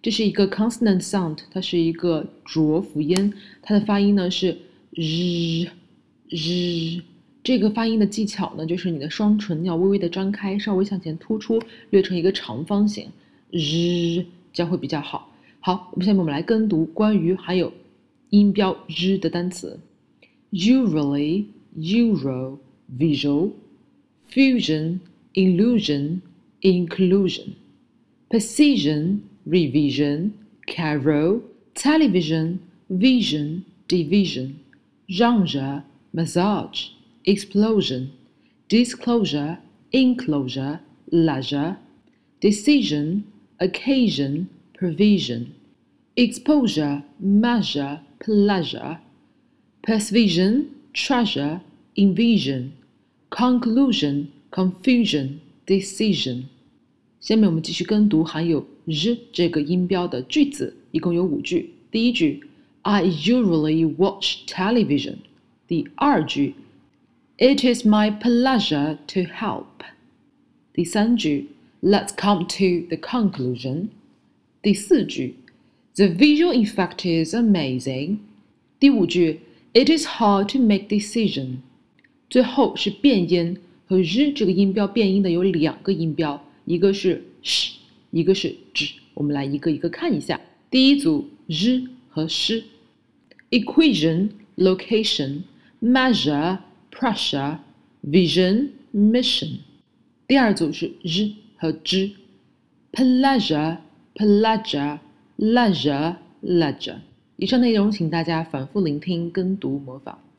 这是一个 consonant sound， 它是一个浊辅音，它的发音呢是日。这个发音的技巧呢，就是你的双唇要微微的张开，稍微向前突出，略成一个长方形，日这样会比较好。好，下面我们来跟读关于含有音标日的单词 ：usually, euro, visual, fusion, illusion, inclusion, precision, revision, carol, television, vision, division, genre, massage, explosion, disclosure, enclosure, leisure, decision, occasion, provision, exposure, measure, pleasure, persuasion, treasure, invasion, conclusion, confusion, decision。下面我们继续跟读含有日这个音标的句子，一共有5句。第一句 I usually watch television。第二句 It is my pleasure to help。第三句 Let's come to the conclusion。第四句 The visual effect is amazing。第五句 It is hard to make decision。最后是变音，和日这个音标变音的有2个音标，一个是 sh， 一个是 zh。我们来一个一个看一下。第一组日和 sh。 Equation, location, measure, pressure, vision, mission。 第二组是日和 zh。 Pleasure, pleasure, leisure, ledger。 以上内容请大家反复聆听跟读模仿。